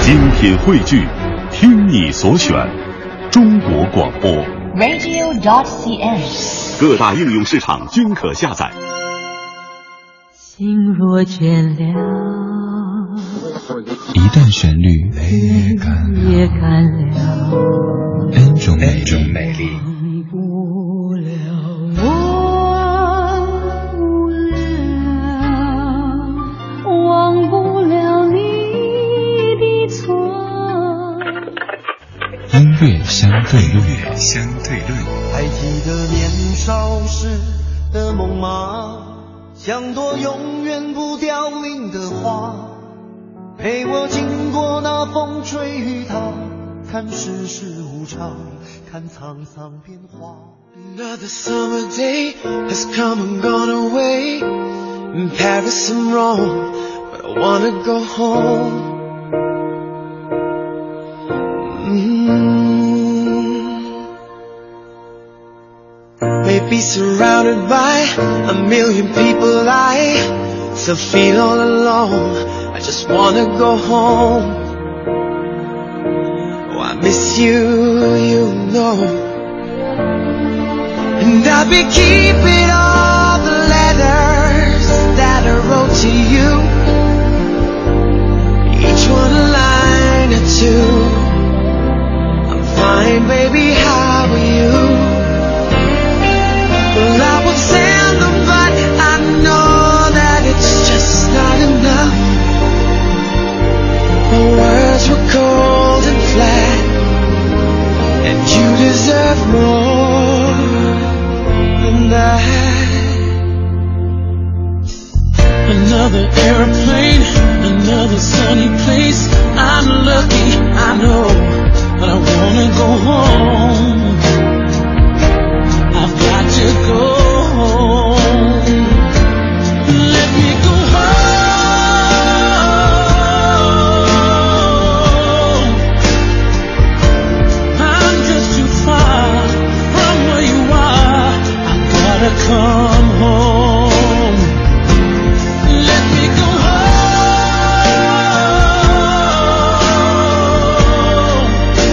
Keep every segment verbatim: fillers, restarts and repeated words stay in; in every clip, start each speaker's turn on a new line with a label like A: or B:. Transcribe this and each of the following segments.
A: 精品汇聚，听你所选，中国广播
B: radio dot c n，
A: 各大应用市场均可下载。
C: 心若倦了，
D: 一段旋律
C: 也干了，也干了
D: 恩种美丽，美丽
C: 忘不了，忘不了，忘不了你的错。
D: 音乐相对论，相对论。
E: 还记得年少时的梦吗？像朵永远不凋零的花，陪我经过那风吹雨打，看世事无常，看沧桑变化。
F: Another summer day has come and gone away. In Paris and Rome, but I wanna go home. Mm. Maybe surrounded by a million people, I still feel all alone. I just wanna go home. Oh, I miss you, you know. And I'll be keeping all the letters that I wrote to you, each one a line or two. I'm fine, baby, how are you? Well, I would send them, but I know that it's just not enough. My words were cold and flat, and you deserve more than that. Another airplane, another sunny place. I'm lucky, I know, but I wanna go home. I've got to go home. Let me go home. I'm just too far from where you are. I've gotta come home. Let me go home.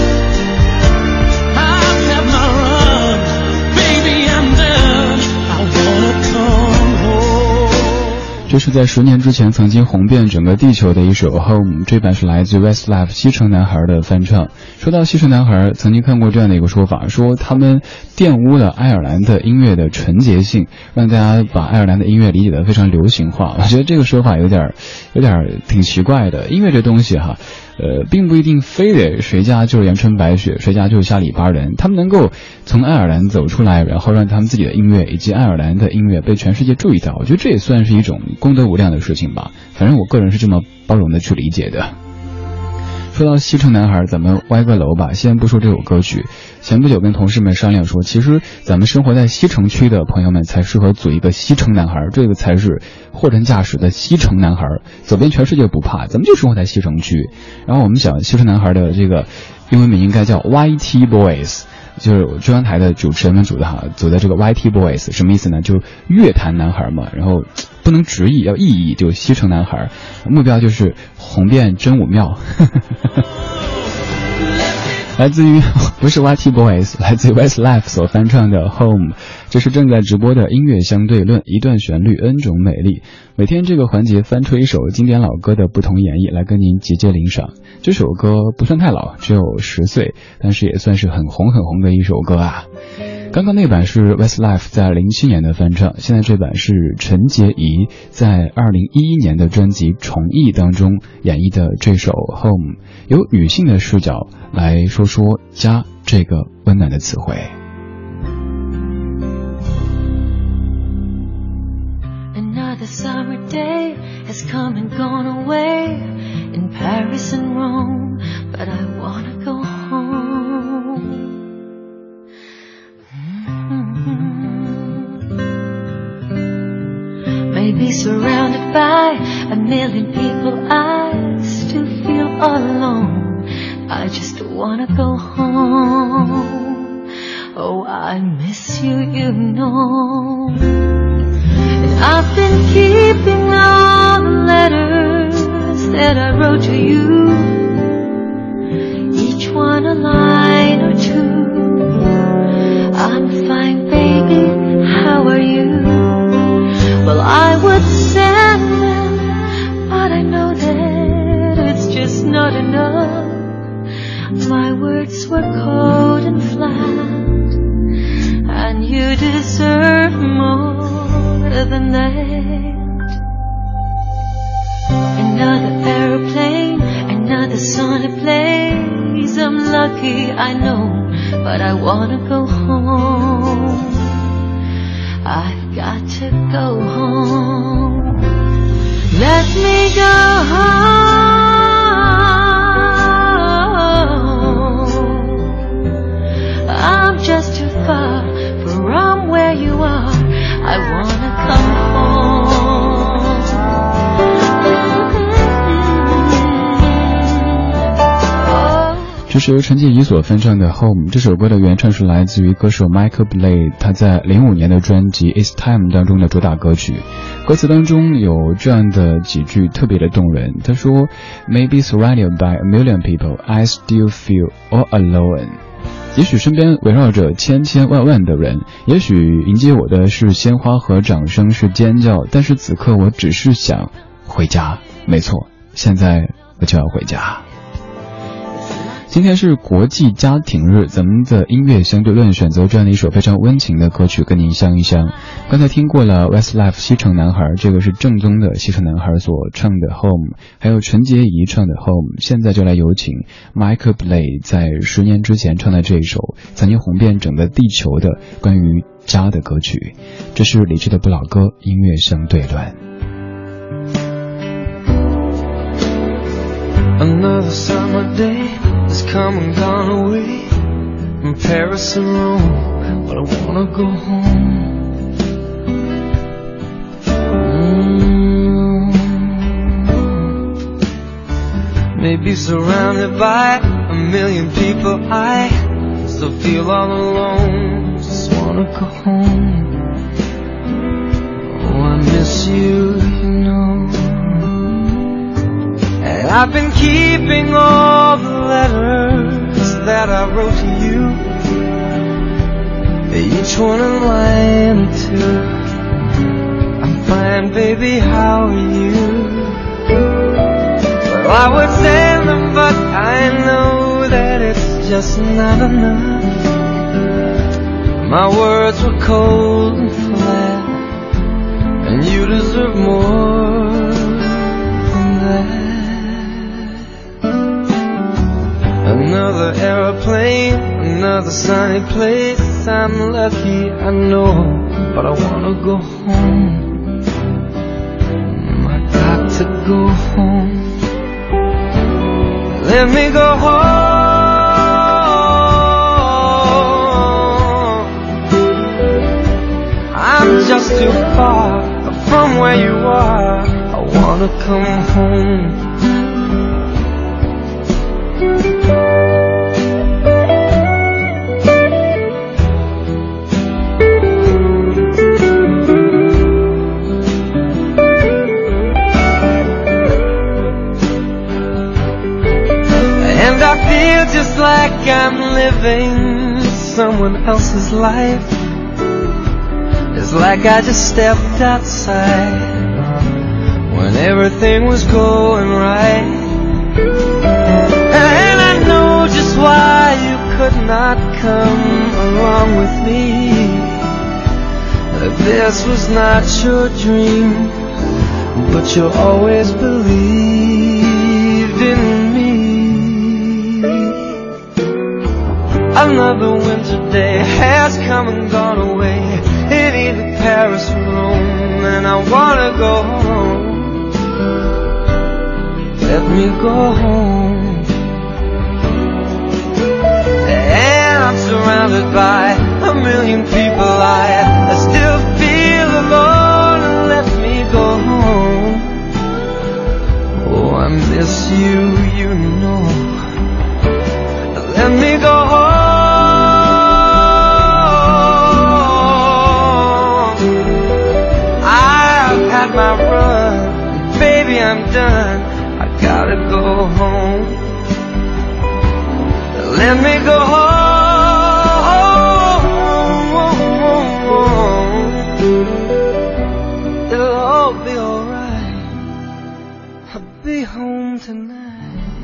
F: I've had my run, baby, I'm done. I wanna come home.
D: 这是在十年之前曾经红遍整个地球的一首 Home， 这版是来自 Westlife 西城男孩的翻唱。说到西城男孩，曾经看过这样的一个说法，说他们玷污了爱尔兰的音乐的纯洁性，让大家把爱尔兰的音乐理解得非常流行化。我觉得这个说法有点有点挺奇怪的。音乐这东西哈，呃，并不一定非得谁家就是阳春白雪，谁家就是下里巴人。他们能够从爱尔兰走出来，然后让他们自己的音乐以及爱尔兰的音乐被全世界注意到，我觉得这也算是一种功德无量的事情吧。反正我个人是这么包容的去理解的。说到西城男孩，咱们歪个楼吧，先不说这首歌曲。前不久跟同事们商量说，其实咱们生活在西城区的朋友们才适合组一个西城男孩，这个才是货真价实的西城男孩，走遍全世界不怕，咱们就生活在西城区。然后我们想，西城男孩的这个英文名应该叫 Y T Boys， 就是中央台的主持人们组的哈，组的这个 Y T Boys 什么意思呢？就是乐坛男孩嘛，然后不能直译，要意译，就西城男孩，目标就是红遍真武庙。来自于不是 Y T Boys， 来自于 Westlife 所翻唱的 Home， 这是正在直播的音乐相对论，一段旋律 N 种美丽。每天这个环节翻出一首经典老歌的不同演绎来跟您节节领赏。这首歌不算太老，只有十岁，但是也算是很红很红的一首歌啊。刚刚那版是 Westlife 在零七年的翻唱，现在这版是陈洁仪在二零一一年的专辑重译当中演绎的这首 Home， 由女性的视角来说说家这个温暖的词汇。
C: Another summer day has come and gone away in Paris and Rome, but I wanna go home. Maybe surrounded by a million people, I still feel all alone. I just wanna go home. Oh, I miss you, you know. And I've been keeping all the letters that I wrote to you, just not enough. My words were cold and flat, and you deserve more than that. Another aeroplane, another song it plays. I'm lucky, I know, but I wanna go home. I've got to go home. Let me go home. I'm just too far from where you are. I wanna come home.
D: 这是由陈洁仪所翻唱的《Home》。这首歌的原唱是来自于歌手 Michael Bublé， 他在零五年的专辑《It's Time》当中的主打歌曲。歌词当中有这样的几句特别的动人，他说 Maybe surrounded by a million people, I still feel all alone。 也许身边围绕着千千万万的人，也许迎接我的是鲜花和掌声，是尖叫，但是此刻我只是想回家。没错，现在我就要回家。今天是国际家庭日，咱们的音乐相对论选择这样的一首非常温情的歌曲跟您相一相。刚才听过了 Westlife 西城男孩，这个是正宗的西城男孩所唱的 Home， 还有陈洁仪唱的 Home。 现在就来有请 Michael Bublé 在十年之前唱的这一首曾经红遍整个地球的关于家的歌曲。这是理智的不老歌，音乐相对论。
E: Another summer day has come and gone away from Paris and Rome, but I wanna go home. Mm-hmm. Maybe surrounded by a million people, I still feel all alone. Just wanna go home. Oh, I miss you, you know. And I've been keeping all the letters that I wrote to you, each one a line or two. I'm fine, baby, how are you? Well, I would send them, but I know that it's just not enough. My words were cold and flat, and you deserve more than that. Another aeroplane, another sunny place. I'm lucky, I know, but I wanna go home. I got to go home. Let me go home. I'm just too far from where you are. I wanna come home. I feel just like I'm living someone else's life. It's like I just stepped outside when everything was going right. And I know just why you could not come along with me. This was not your dream, but you always believed in me. Another winter day has come and gone away in either Paris or Rome, and I wanna go home. Let me go home. And I'm surrounded by a million people, I, I still feel alone. Let me go home. Oh, I miss you, you know. Let me go home. My run, baby, I'm done. I gotta go home. Let me go home. It'll all be alright. I'll be home tonight.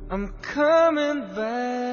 G: I'm coming back.